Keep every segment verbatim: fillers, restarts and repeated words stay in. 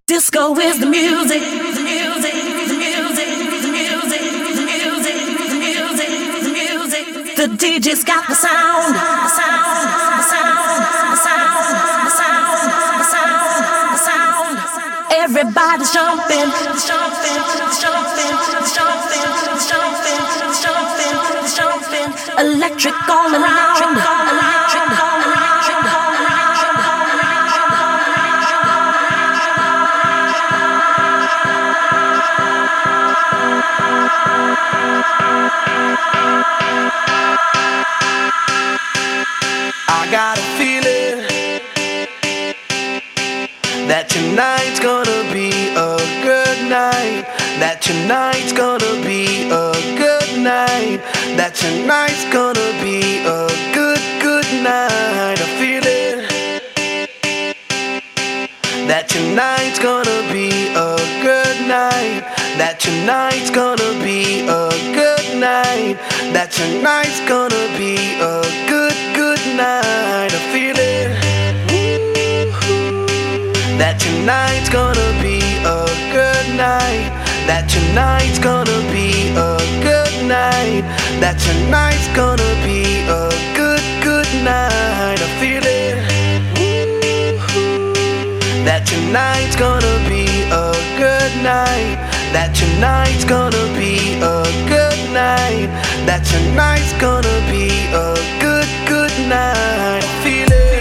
Disco is the music, the music, the music, the music, the music, the music, the music. The D J's got the sound, the sound, the sound, the sound, the sound, the sound, the sound. Everybody's jumping, jumping, jumping, jumping, jumping, jumping, jumping. Electric all around, electric all around. I got a feeling that tonight's gonna be a good night. That tonight's gonna be a good night. That tonight's gonna be a good, good night. I feel it. That tonight's gonna be a good night. That tonight's gonna be a good night. That tonight's gonna be a good, good night. I feel it. That tonight's gonna be a good night. That tonight's gonna be a good night. That tonight's gonna be a good, good night. I feel it. That tonight's gonna be a good night. That tonight's gonna be a good night. That tonight's gonna be a good, good night. I feel it.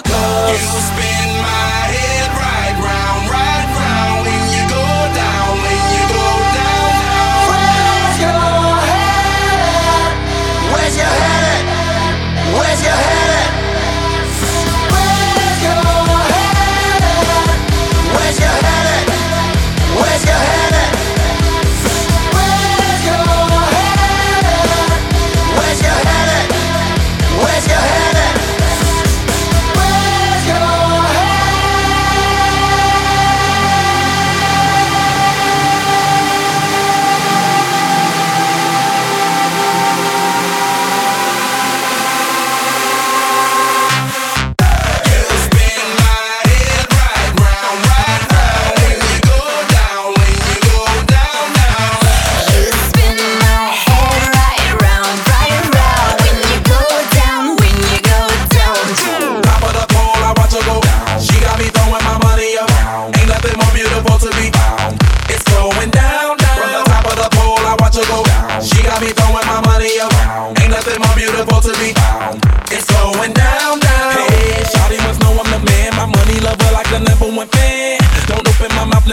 You spin my head right round, right round when you go down.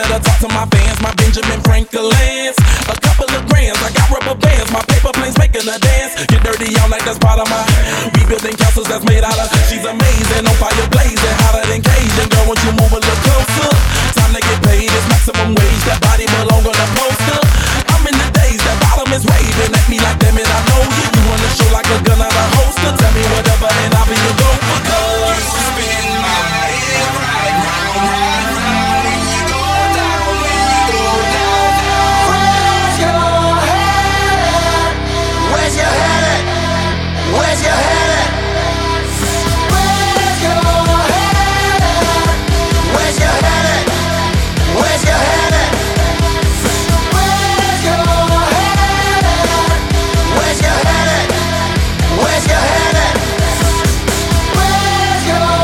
better talk to my fans, my Benjamin Franklin's. A couple of grands, I got rubber bands, my paper planes making a dance. Get dirty all night, that's part of my. We building castles that's made out of. She's amazing, on fire blazing, hotter than Cajun. Girl, won't you move a little closer? Time to get paid, it's maximum wage. That body belong on a poster. I'm in the days, that bottom is raving at me like, damn it, I know you. You wanna show like a gun out a holster? Tell me whatever and I'll be your go for good. You spin my head right round, right round. When you go down, when you go down, down. Where's your head? Where's your head at? Where's your head at? Where's your head? Where's your head at? Where's your head at? Where's your head at? Where's your head at? Where's your head at? Where's your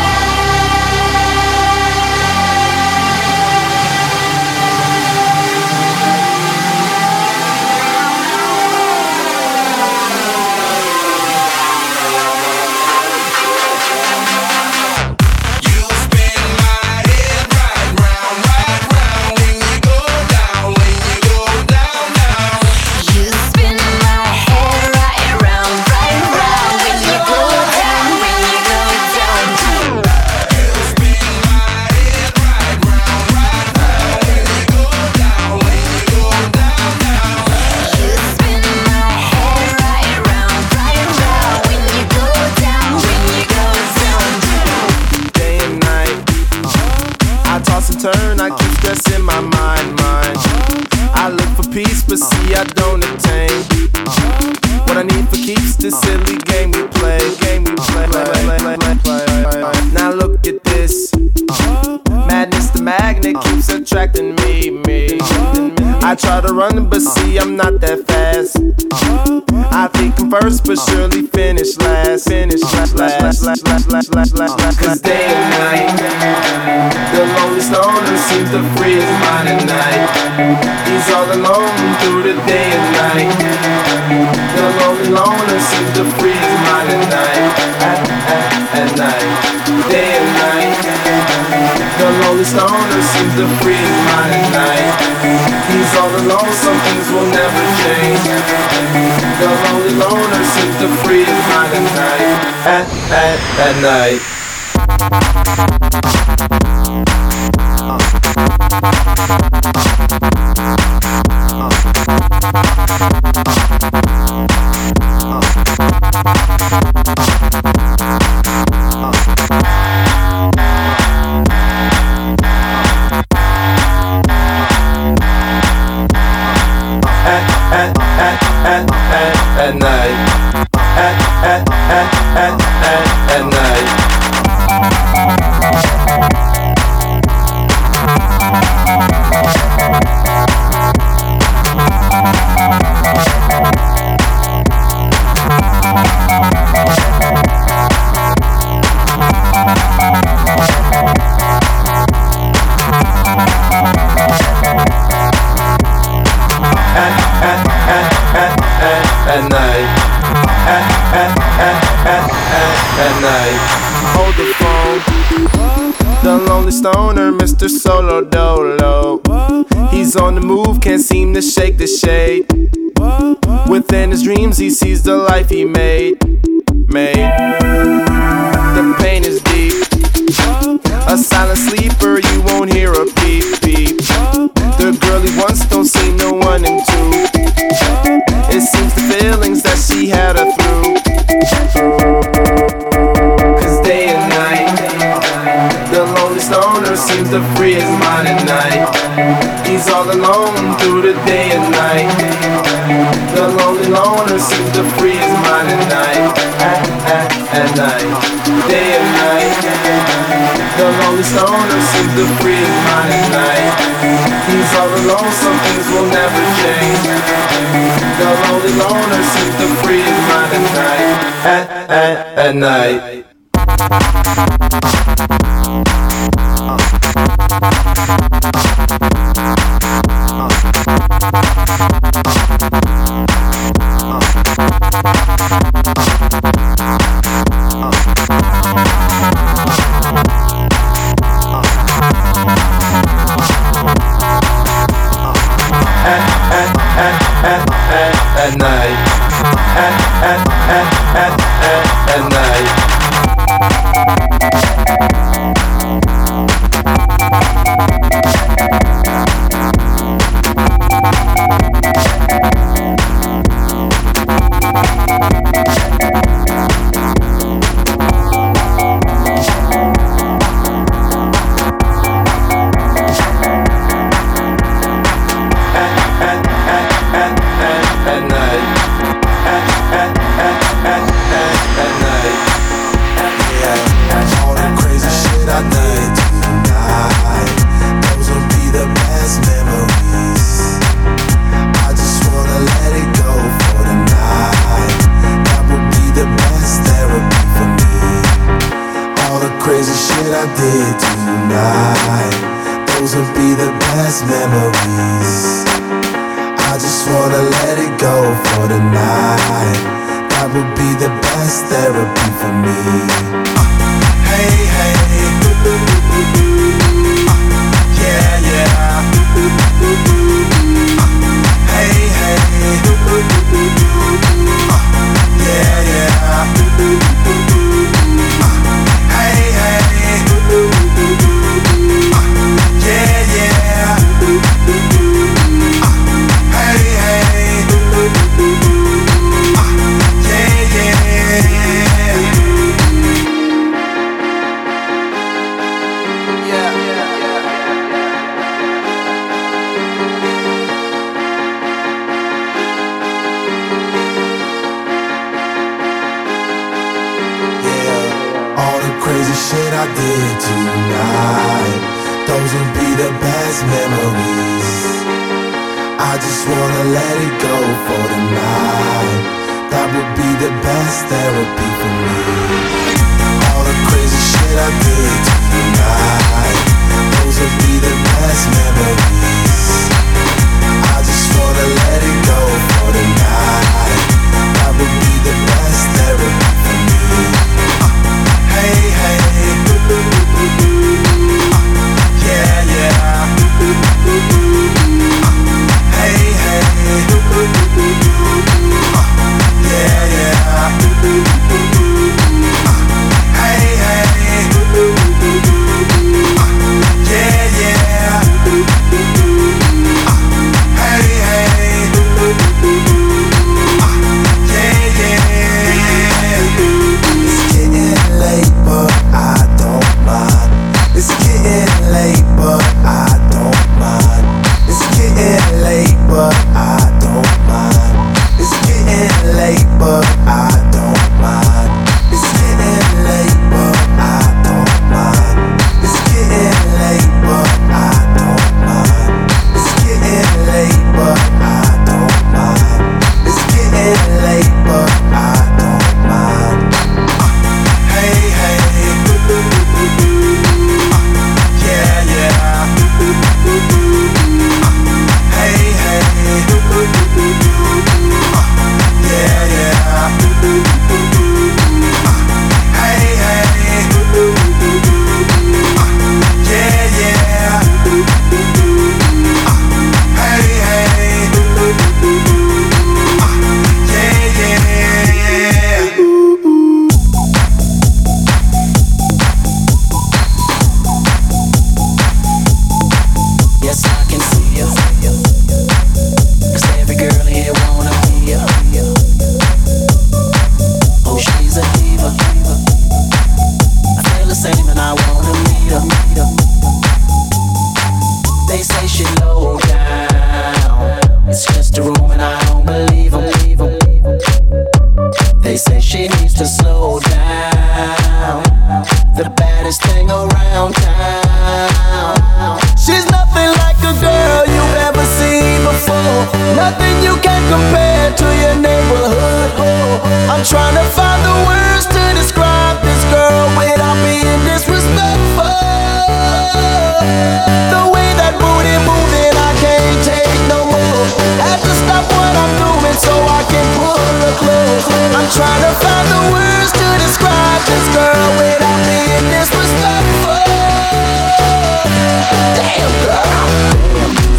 You spin my head right round, right round. When you go down, when you go down, down. You spin my head right round, right round. When you go down, when you go down, down. You spin my head right round, right round. When you go down, when you go down, down. You spin my head right round, right round. When you go down, when you go down, down. Day and night, I toss and turn, I keep stressing my mind, mind. I look for peace, but see I don't attain. What I need for keeps this silly game we play, game we play. Now look at this, madness the magnet keeps attracting me, me. I try to run, but see I'm not that fast. I think I'm first, but surely finish last. Finish last, last, last, last, last, last, last. Cause day and night, the lonely stoner seems to free his mind at night. He's all alone through the day and night. The lonely loner seems to free his mind at night. At, at, at night, day and night. The lonely stoner seems to free his mind at night. He's all alone, some things will never change. The lonely loner seems to free his mind at night. At, at, at night. At night, at, at, at, at, at, at night. At night, at, at, at, at, at, at night. Hold the phone, the lonely stoner, Mister Solo Dolo. He's on the move, can't seem to shake the shade. Within his dreams, he sees the life he made. Made. The pain is deep. A silent sleeper, you won't hear a peep peep. The girl he wants don't seem to want him to. It seems the feelings that she had her through. Cause day and night, the lonely stoner seems to free his mind at night. He's all alone through the day and night. The lonely loner seems to free his mind at night. At, at, at night, day and night. The lonely stoner seems to free his mind at night. He's all alone, some things will never change. The lonely loner seems to free his mind at night. At, at, at night. at, at, at, at night.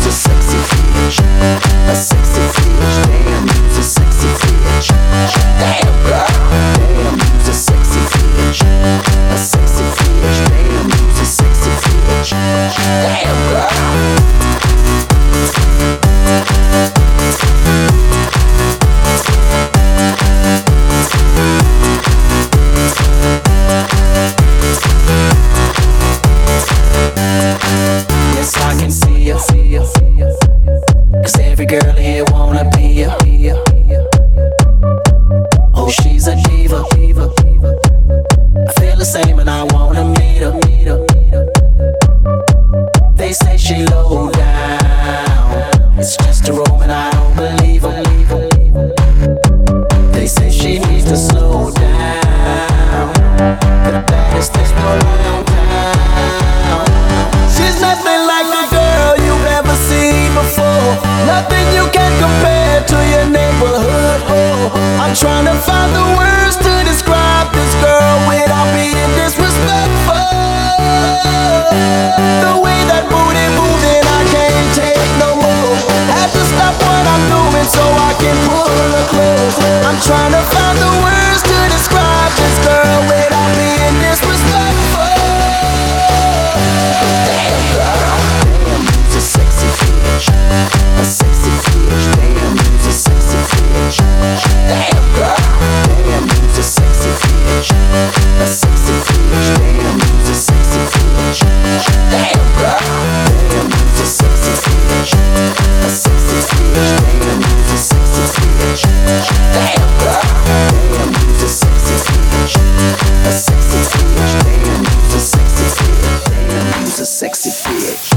A sexy bitch, damn, you's a sexy bitch. Damn. Cause every girl here wanna be ya. Oh, she's a diva. I feel the same and I wanna meet her. They say she low down, it's just a room and I don't believe her. They say she needs to slow down, but the baddest thing around town. She's nothing like the girl you've ever seen before, nothing you can compare to your neighborhood. Oh, I'm trying to find the words to describe this girl without being disrespectful. The way that booty moves and I can't take no more. Have to stop what I'm doing so I can pull her close. I'm trying to find the words to describe this girl without being disrespectful. Damn girl, damn, who's a sexy bitch? A sexy bitch, damn, who's a sexy bitch? Damn girl, damn, who's a sexy bitch? A sexy bitch, damn, who's a sexy bitch? Damn girl, damn, who's a sexy bitch? A sexy bitch, damn, who's a sexy bitch? Damn girl, damn, who's a sexy bitch? A sexy bitch, damn, who's a sexy bitch? Damn, who's a sexy bitch?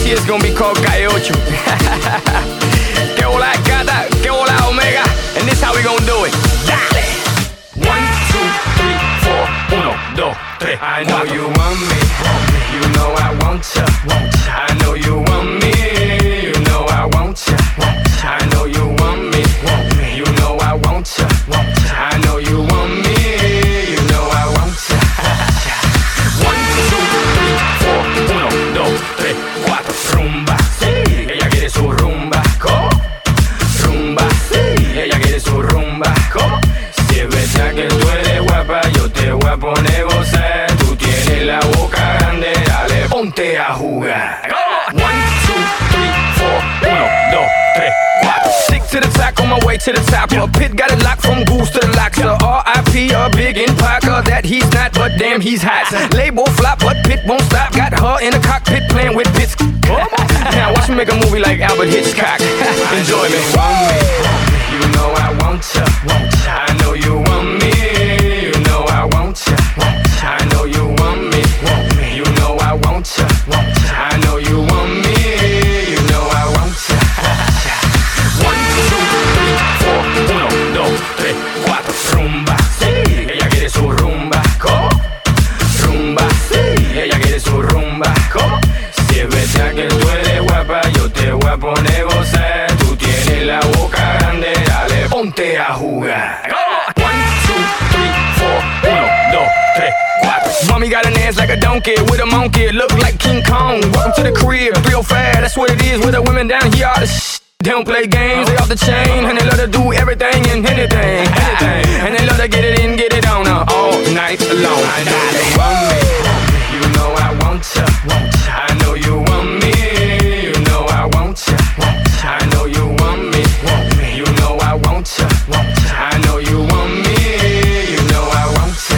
This year's gonna be called Calle Ocho. Que hola gata, que hola omega. And this how we gonna do it. Dale. One, two, three, four. Uno, dos, tres. I know you want me. You know I want ya. I know you want me. You know I want ya. I know you want me. You know I want ya. I know you want me. You know I want ya. One, two, three, four. Uno, dos, tres, cuatro. Rumba, sí. Ella quiere su rumba. ¿Cómo? Rumba, sí. Ella quiere su rumba. ¿Cómo? Si es verdad que tú eres guapa, yo te voy a poner gozar. Tú tienes la boca grande, dale, ponte a jugar. One, two, three, four. Uno, dos, tres, cuatro. Stick to the track on my way to the top. A pit got it locked from goose to the locks. R I P a big in Parker that he's not, but damn he's hot. Label flop, but Pit won't stop. Got her in the cockpit playing with bits. Now watch me make a movie like Albert Hitchcock. Enjoy me. You know I want ya. I know you want me. You know I want ya. I know you want me. You know I want ya. I know you want me. You know I want ya. One, two, three, four. Uno, dos, tres, cuatro. Rumba, sí. Ella quiere su rumba. ¿Cómo? Rumba, sí. Ella quiere su rumba. ¿Cómo? Si es verdad que tú eres guapa, yo te voy a poner gozar. Tú tienes la boca grande, dale, ponte a jugar. One, two, three, four. Uno, dos, tres, cuatro. Mommy got an ass like a donkey with a monkey. Look like King Kong. Welcome to the crib, real fast. That's what it is with the women down here. All the sh- They don't play games, they off the chain. And they love to do everything and anything, anything. And they love to get it in, get it on uh, all night long. I know you want me. You know I want ya. I know you want me. You know I want ya. I know you want me. You know I want ya. I know you want me. You know I want ya.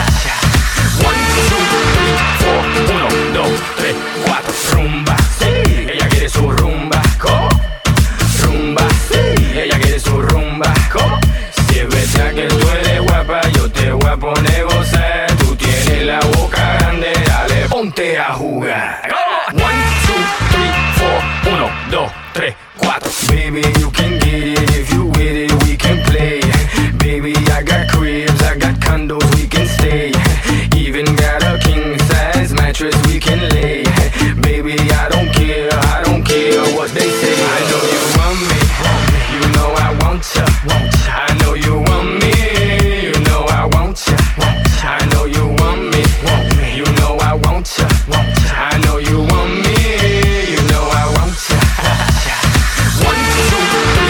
One, two, three, four. Uno, dos, tres, cuatro. Rumba, sí. Ella quiere su rumba. ¿Cómo? Rumba, sí. Ella quiere su rumba. ¿Cómo? Si es verdad que tú eres guapa, yo te voy a poner gozar. Tú tienes la boca grande, dale, ponte a jugar. One, two, three, four. Uno, dos, tres, cuatro. Baby, you can get it if you with it, we can play. Baby, I got cribs, I got condos, we can stay. Even got a king size mattress we can lay. Baby, I don't care, I don't care what they say. I know you want me, you know I want ya. I know you want me, you know I want ya. I know you want me, you know I want ya. I know you want me, you know I want ya. One, two,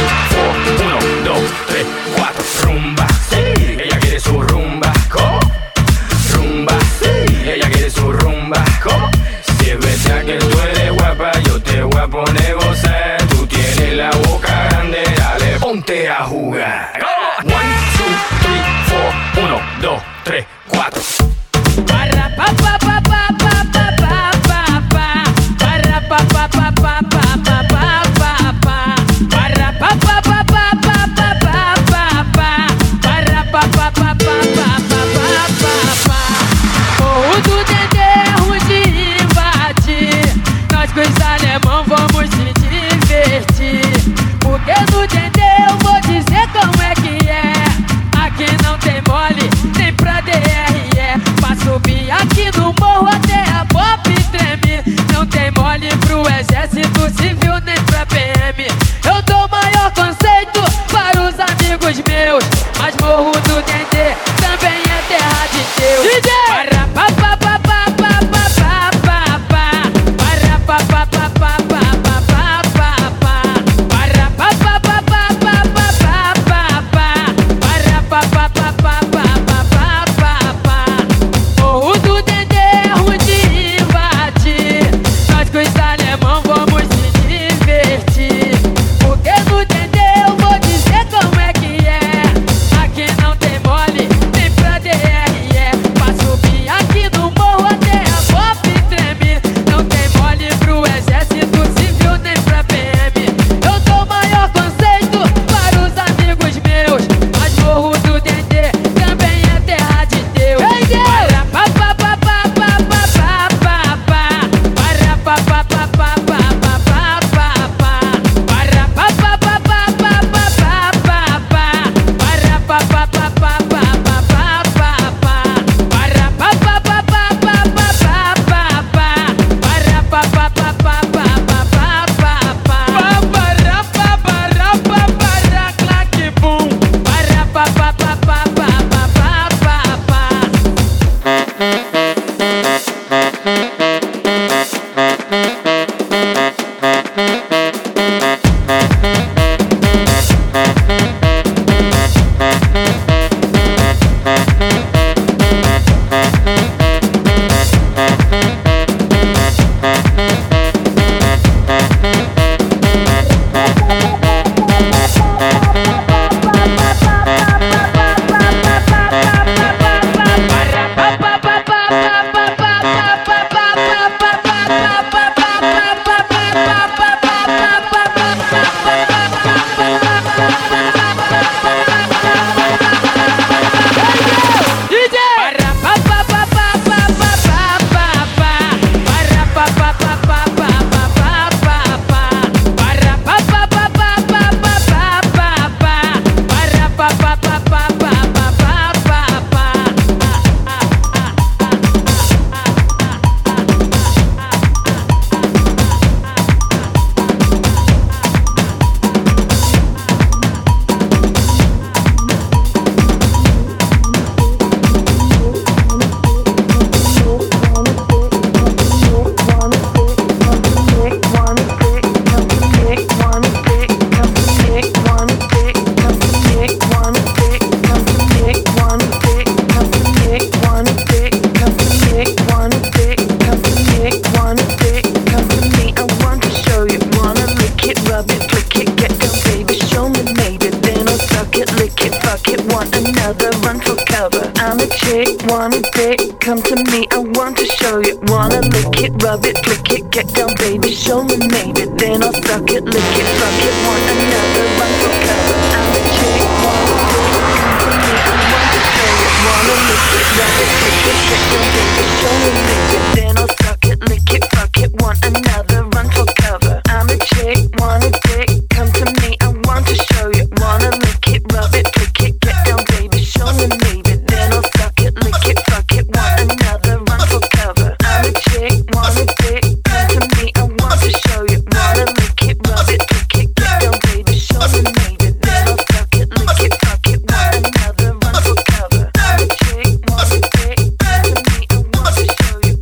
wanna date, come to me, I want to show you. Wanna lick it, rub it, flick it, get down baby, show me maybe. Then I'll suck it, lick it, fuck it, want another, run for cover. I'm a chick, wanna date, come to me, I want to show you. Wanna lick it, rub it, flick it, get down baby, show me maybe. Then I'll suck it, lick it, fuck it, want another, run for cover. I'm a chick, wanna date, come to me, I want to show you. Wanna lick it, rub it, flick it, get down baby, show me maybe. Then I'll suck it, lick it, fuck it, want another, run for cover. I'm a chick, wanna date, come to me, I want to show you. Wanna lick it, rub it, flick it, get down baby, show me maybe. Then I'll suck it, lick it, fuck it, want another, run for cover. I'm a chick, wanna date, come to me, I want to show you.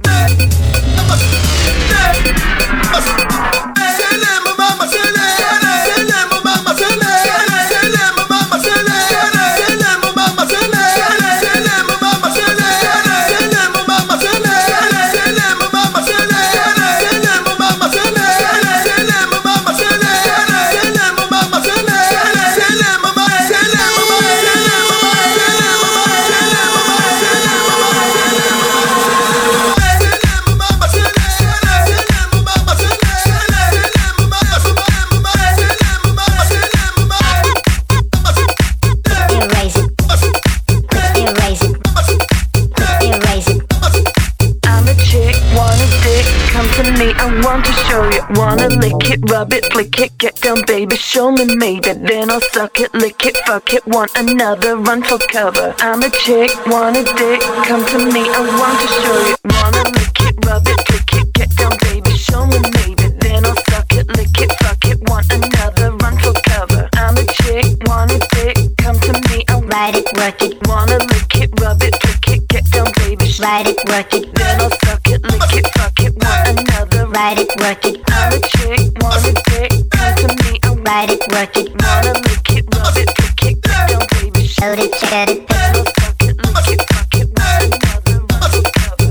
Wanna lick it, rub it, flick it, get down baby, show me maybe. Then I'll suck it, lick it, fuck it, want another, run for cover. I'm a chick, wanna dick, come to me, I want to show you. Wanna lick it, rub it, flick it, get down baby, show me maybe. Then I'll suck it, lick it, fuck it, want another, run for cover. I'm a chick, wanna dick, come to me, I Ride it, work it, wanna lick it, rub it, flick it, get down baby, ride it, work it, then I'll suck it, lick it, fuck it, want another, ride it, work it, I'm a chick, wanna dick, come to me, I ride it, work it, wanna lick it, rub it, flick it, get down baby, show load it, check it, then I'll suck it, lick it, fuck it, want another, run for cover.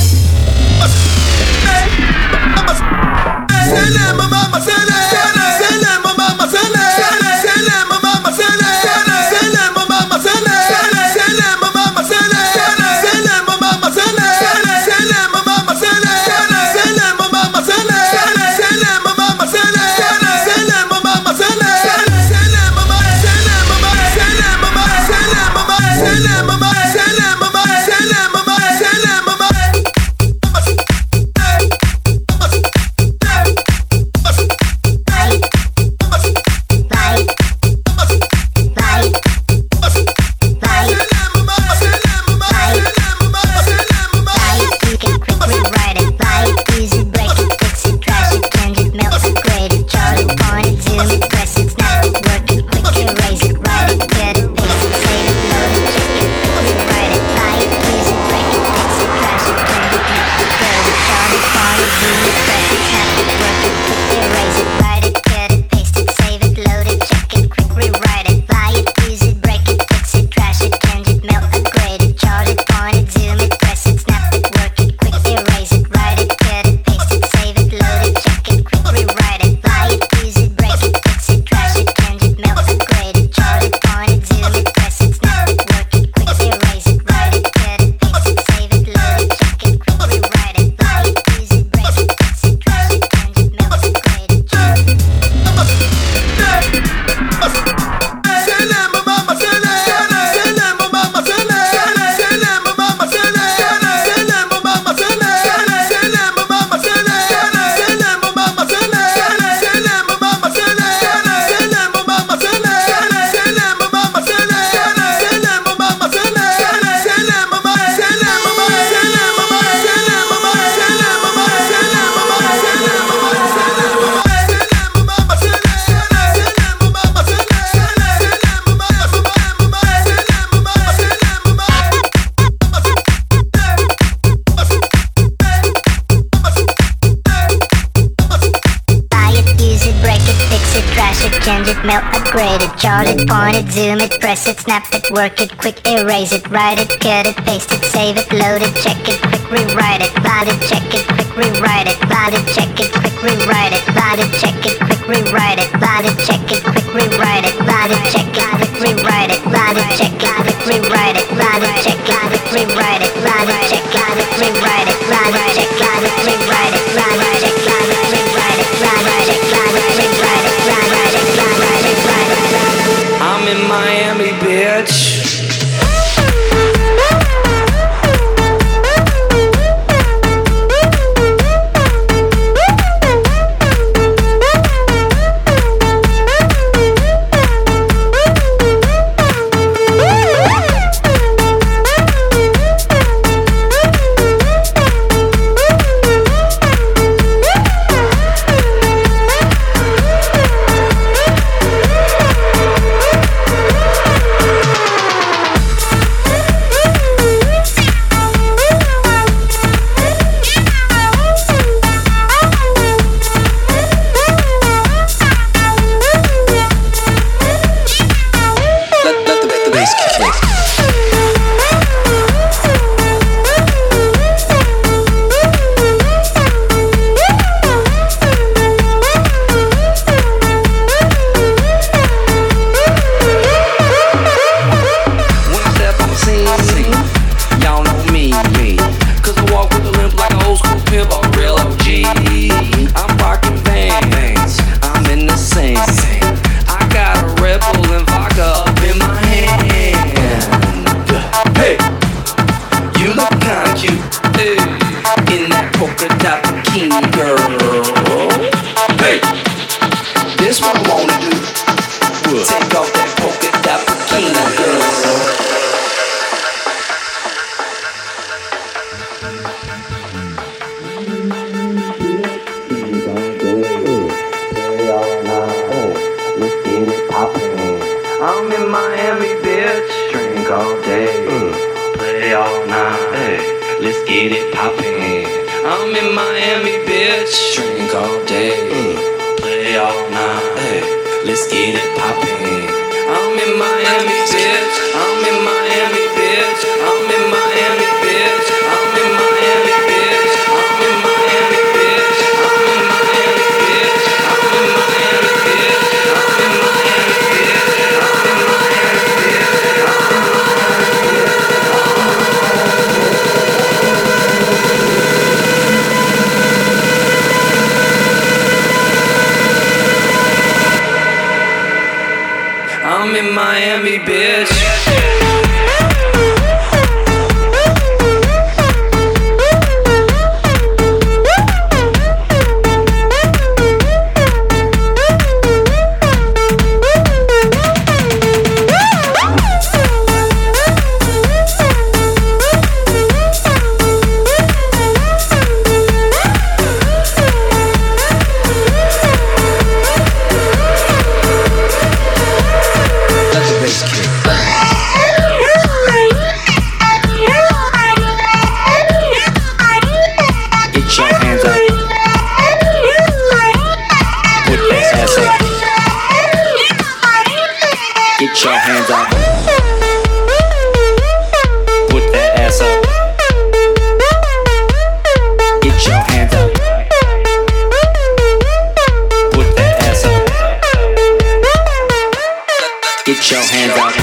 change it, melt, upgrade it, chart it, point it, zoom it, press it, snap it, work it, quick erase it, write it, cut it, paste it, save it, load it, check it, quick rewrite it, load it, check it, quick rewrite it, load it, check it, quick rewrite it, load it, check it, quick rewrite it, load it, check it, quick rewrite it, load it, check it, quick rewrite it, load it, check it, quick rewrite it, load it, check it, quick rewrite it. This what I wanna do. What? Take off that polka dot bikini, girl. I'm in Miami, bitch. Drink all day, play all night. Hey, let's get it poppin'. I'm in Miami, bitch. Drink all day, play all night. Hey, let's get it poppin'. I'm in Miami, bitch. I'm in Miami, bitch. I'm in Miami, bitch. I'm in Miami, bitch. I'm in Miami, bitch. I'm in Miami, bitch. I'm in Miami, bitch. I'm in Miami, I'm in Miami, bitch. Get your hands up. Put that ass up. Get your hands up. Put that ass up. Get your hands up.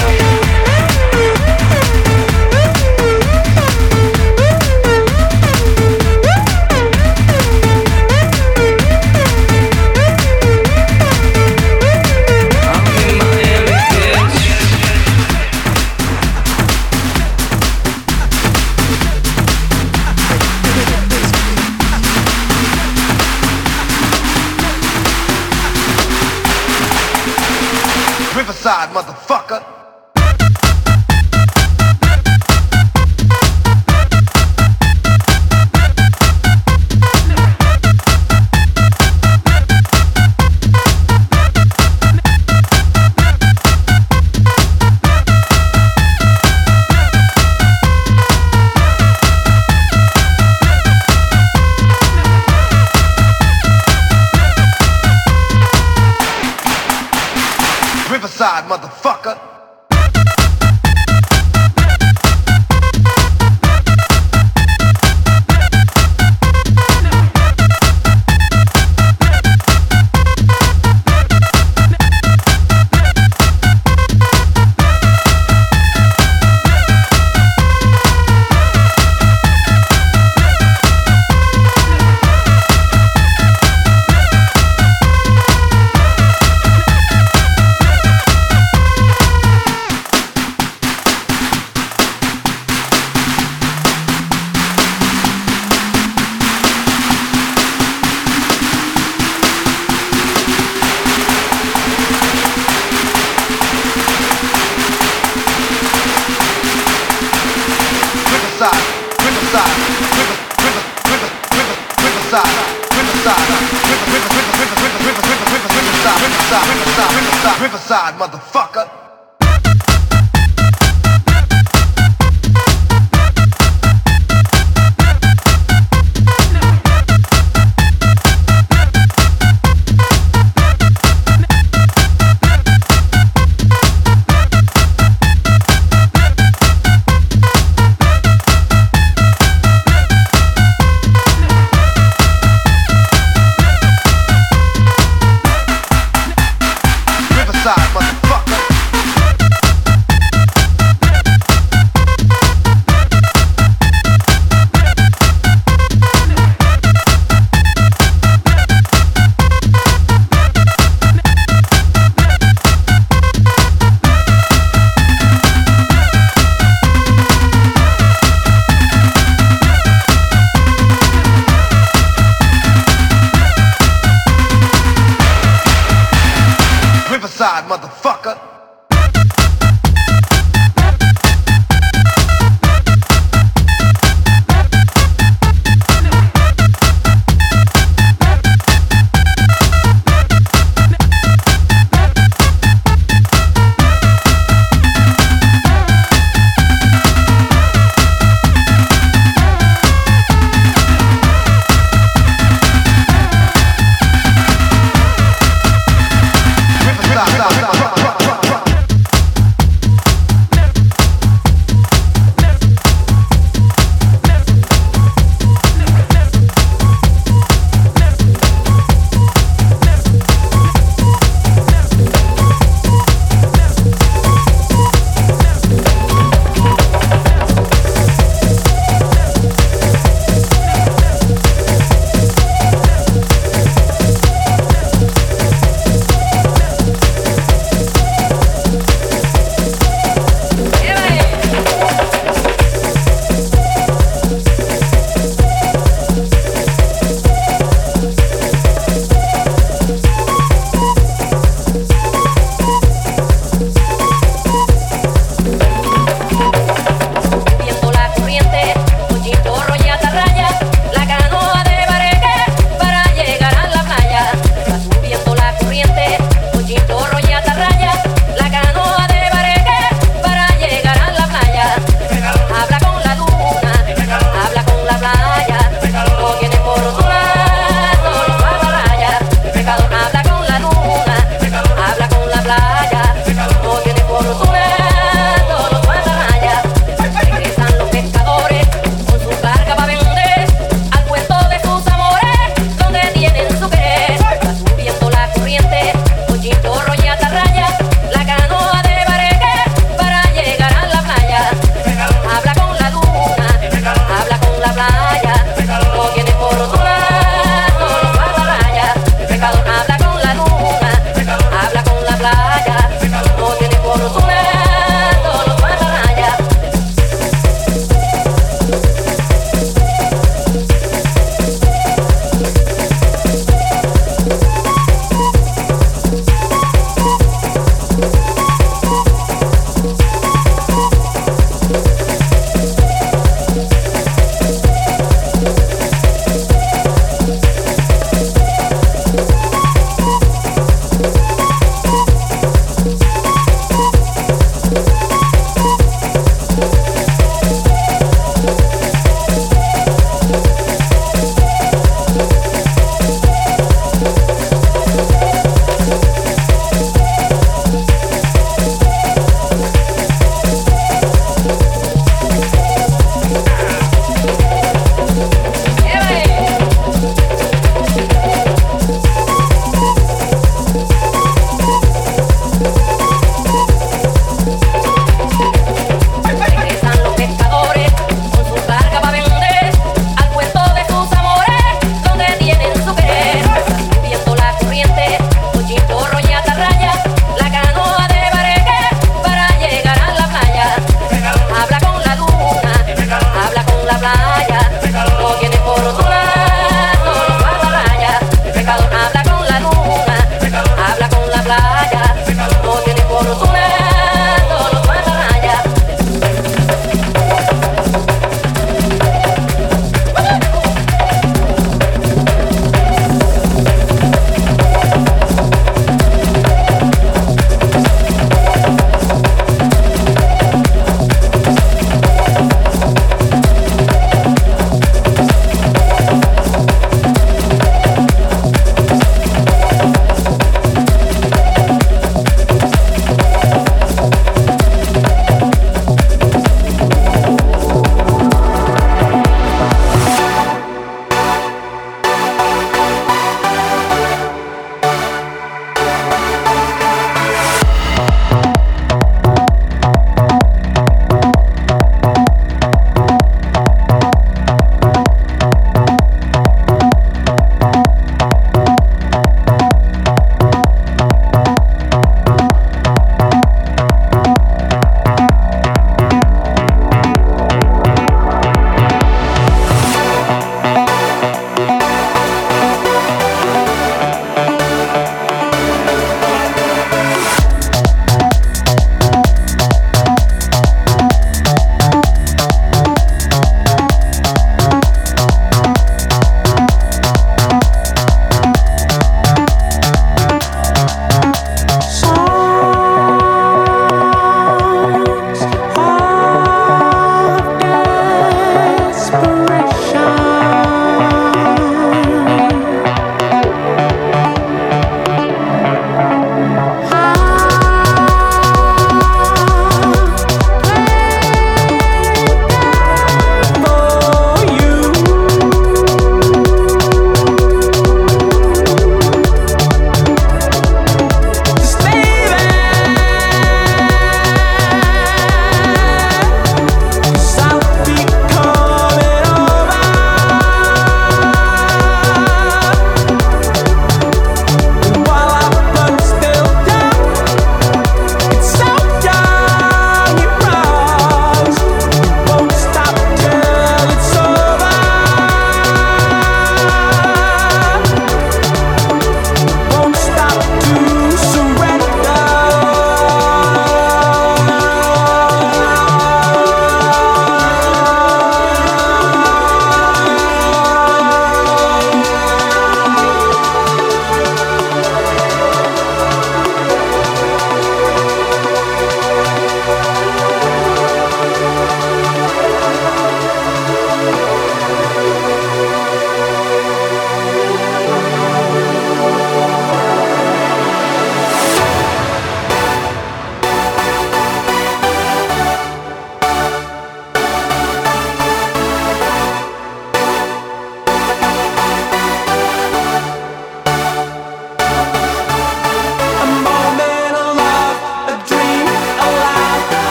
Riverside, motherfucker. Riverside, motherfucker. Riverside, motherfucker. Riverside, motherfucker.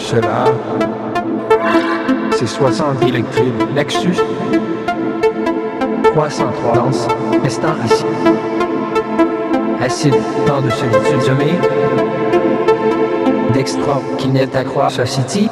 cela. C'est soixante électriques. Lexus trois cent trois danse, restant assis. Acide, temps de solitude semé. Dextra, qui n'est à croire Society.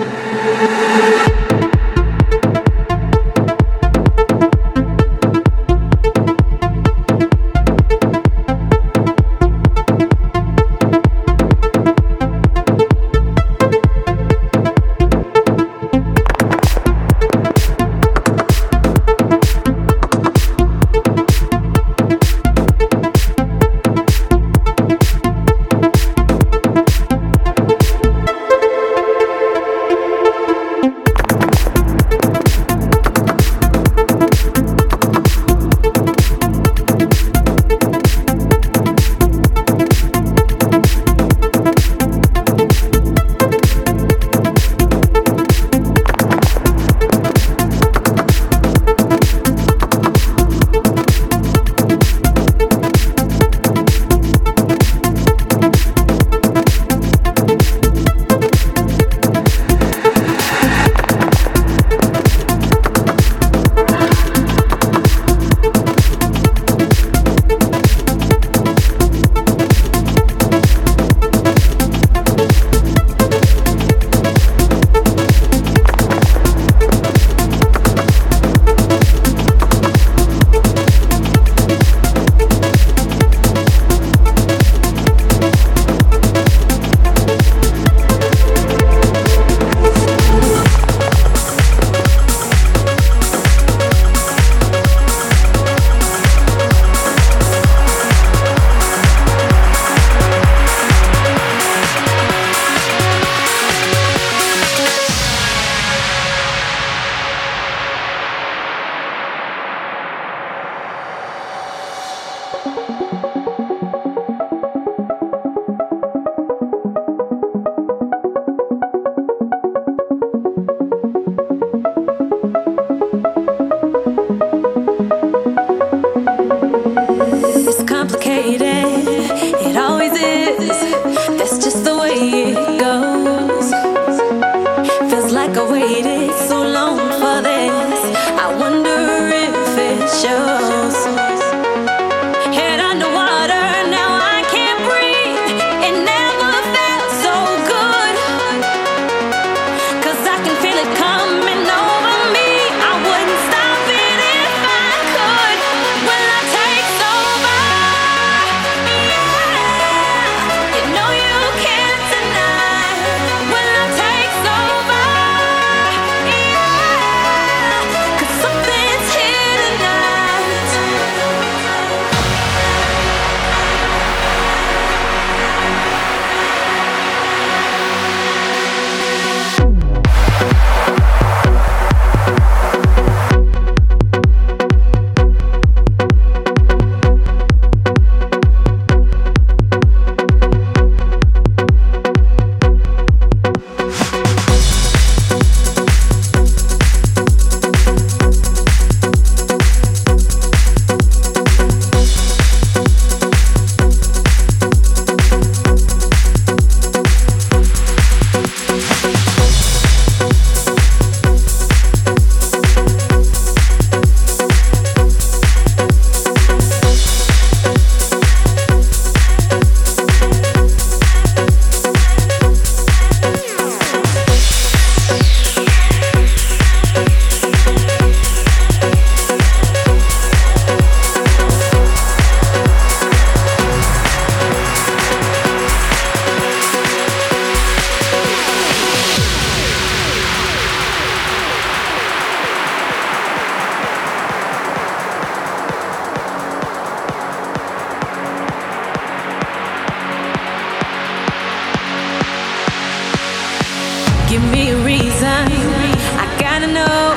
Give me a reason. I gotta know.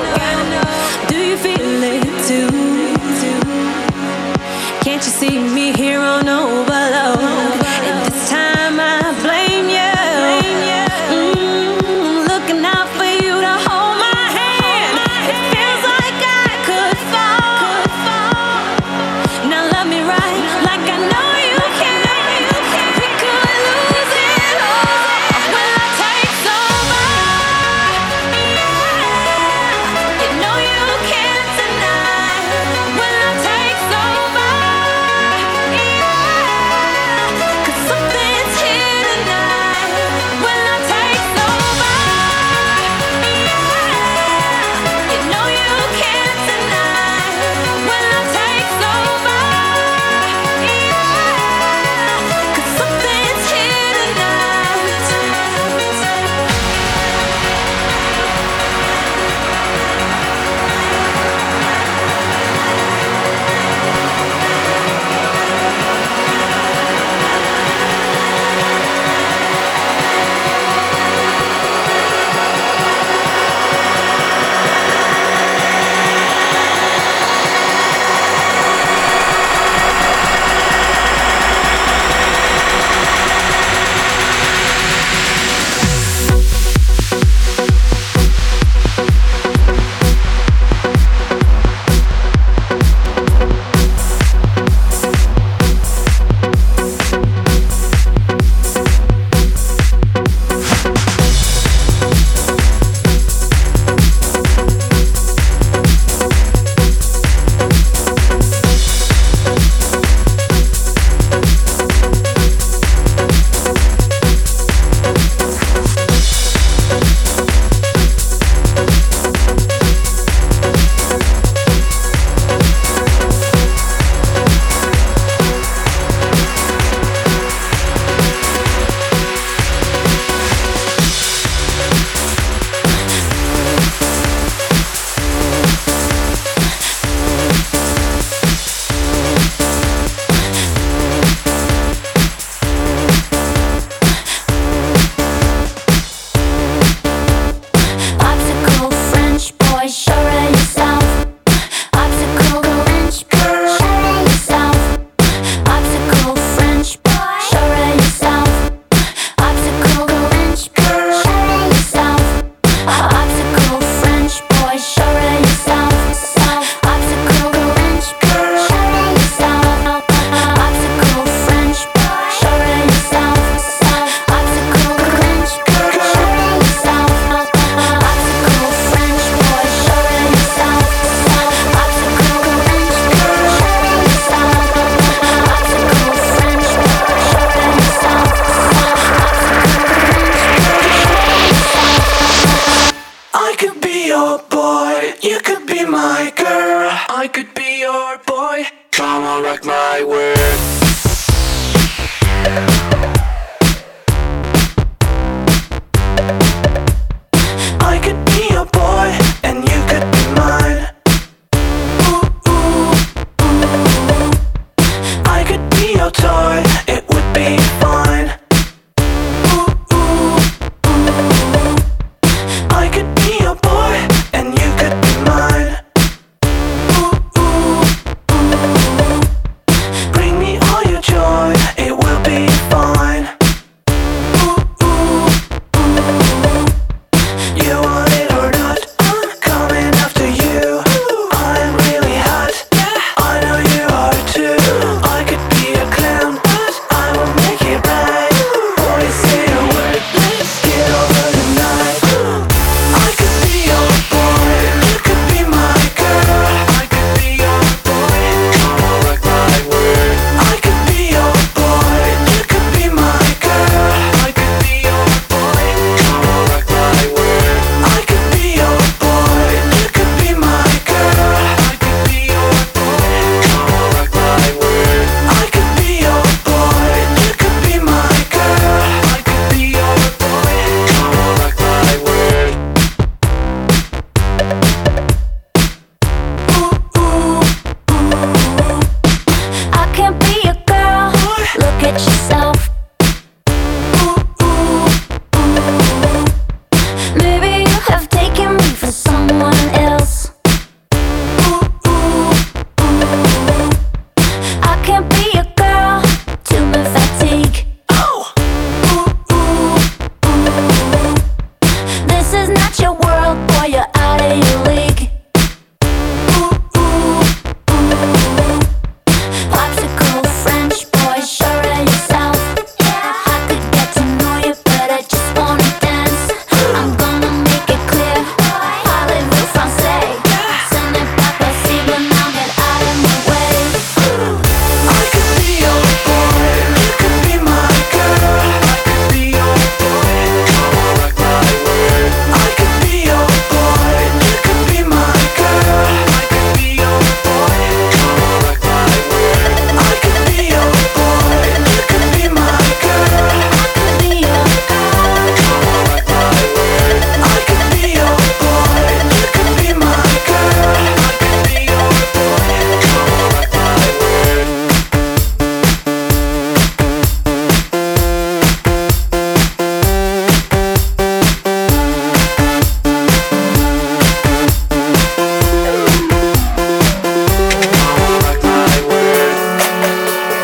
Do you feel it too? Can't you see me here on overload? And this time I blame you. Mm, looking out for you to hold my hand. It feels like I could fall. Now love me right, like I know you can. We could lose it all when I take over. I could be your boy. Come on, rock my world. I could be your boy, and you could be mine. Ooh, ooh, ooh. I could be your toy, it would be fine. Ooh, ooh, ooh. I could be your boy, and you could be mine. Ooh, ooh, ooh. Bring me all your joy, it will be fine. Ooh, ooh, ooh. You want it or not, I'm coming after you. I'm really hot, I know you are too. I could be a clown, but I will make it right. Boys, say a word, let's get over the night. I could be your boy, you could be my girl. I could be your boy, come on, rock my world. I could be your boy, you could be my girl. I could be your boy, come on, rock my world. I could be your boy, you could be my girl. I could be your boy, come on, rock my world. I could be your boy, you could be my girl. I could be your boy, come on, rock my world. Ooh, ooh, ooh. I can't be a girl. Look at yourself. Ooh, ooh, ooh. Maybe you have taken me for someone else. Ooh, ooh, ooh. I can't be a girl. Too much fatigue. Oh. Ooh, ooh, ooh. This is not your world, boy. You're out of your league. Ooh, ooh, ooh. Popsicle French boy, sure of yourself. I could get to know you, but I just wanna dance. I'm gonna make it clear. Parlez-vous français? Ce n'est pas possible, now get out of my way. I could be your boy, you could be my girl. I could be your boy, come on, rock my world. I could be your boy, you could be my girl. I could be your boy, come on, rock my world. I could be your boy, you could be my girl. I could be your girl. Come on, rock my world. I could be your boy, you could be my girl. I could be your boy, come on, rock my world. Come on, rock my world.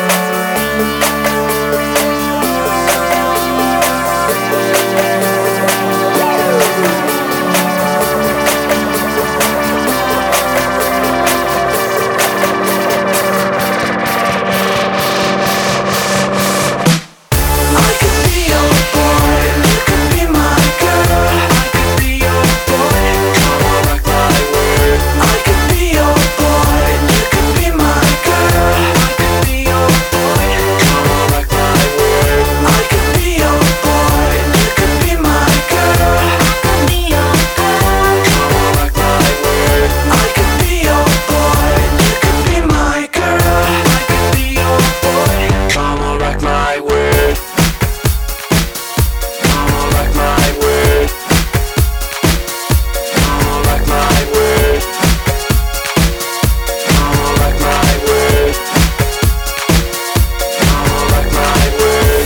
I could be your boy, you could be my girl. I could be your boy, come on, rock my world. I could be your boy, you could be my girl. I could be your boy, come on, rock my world. I could be your boy, you could be my girl. I could be your girl. Come on, rock my world. I could be your boy, you could be my girl. I could be your boy, come on, rock my world. Come on, rock my world. Come on, rock my world. Come on, rock my world. Come on, rock my world.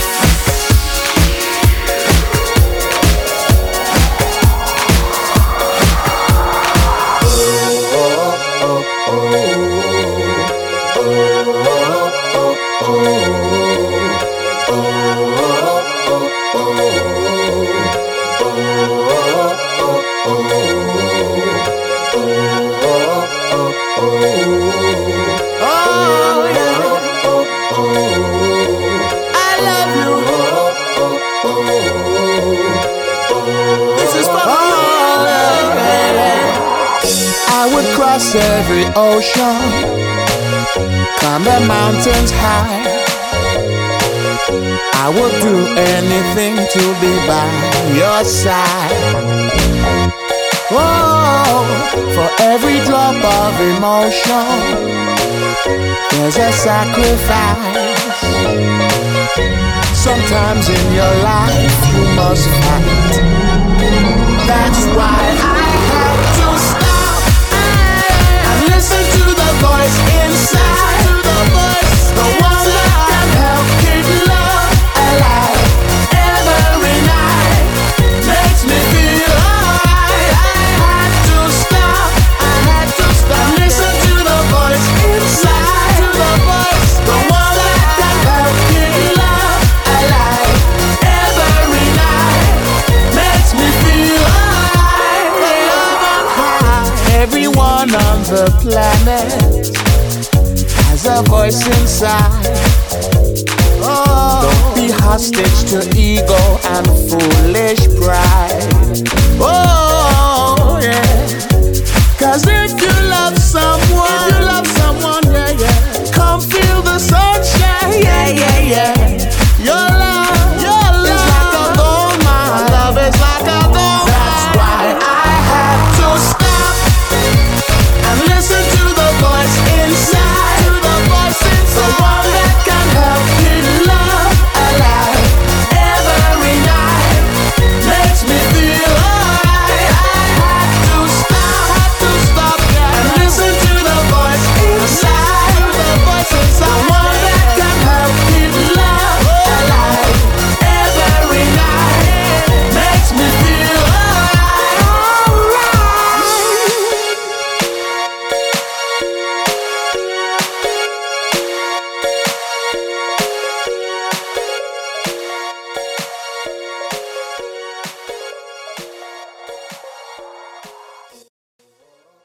Oh, yeah. I love you. This is for all of I would cross every ocean, climb the mountains high. I would do anything to be by your side. Oh, for every drop of emotion, there's a sacrifice. Sometimes in your life you must fight. That's why I have to stop and listen to the voice inside, to the voice, the one that can help keep love alive every night. Makes me feel alright. I had to stop, I had to stop. Listen to the voice inside, to the voice, the one that can help keep love alive every night. Makes me feel alright. Love on high. Everyone on the planet has a voice inside. Oh, don't be hostage to ego and foolish pride. Oh, yeah. Cause if you